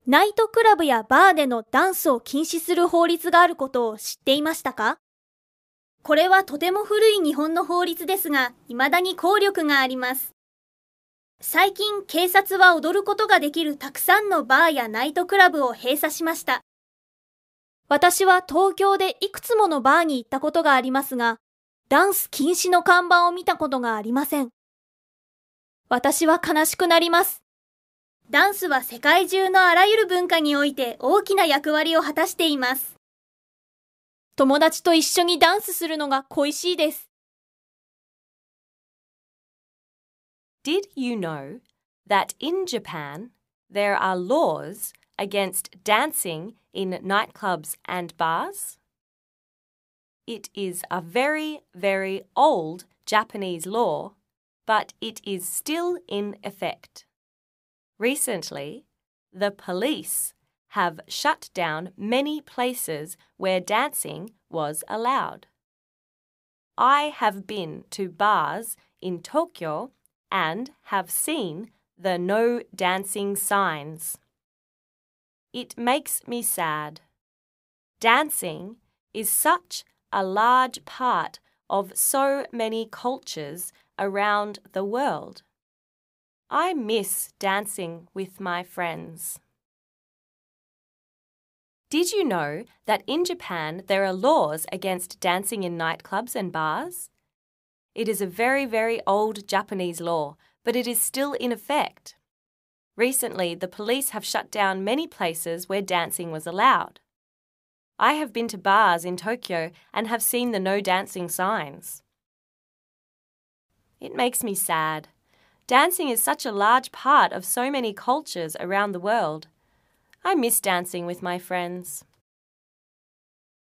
ナイトクラブやバーでのダンスを禁止する法律があることを知っていましたか？これはとても古い日本の法律ですが、未だに効力があります。最近、警察は踊ることができるたくさんのバーやナイトクラブを閉鎖しました。私は東京でいくつものバーに行ったことがありますが、ダンス禁止の看板を見たことがありません。私は悲しくなります。ダンスは世界中のあらゆる文化において大きな役割を果たしています。友達と一緒にダンスするのが恋しいです。 Did you know that in Japan there are laws against dancing in nightclubs and bars? It is a very, very old Japanese law, but it is still in effect. Recently, the police have shut down many places where dancing was allowed. I have been to bars in Tokyo and have seen the no dancing signs. It makes me sad. Dancing is such a large part of so many cultures around the world. I miss dancing with my friends. Did you know that in Japan there are laws against dancing in nightclubs and bars? It is a very, very old Japanese law, but it is still in effect. Recently, the police have shut down many places where dancing was allowed. I have been to bars in Tokyo and have seen the no dancing signs. It makes me sad. Dancing is such a large part of so many cultures around the world. I miss dancing with my friends.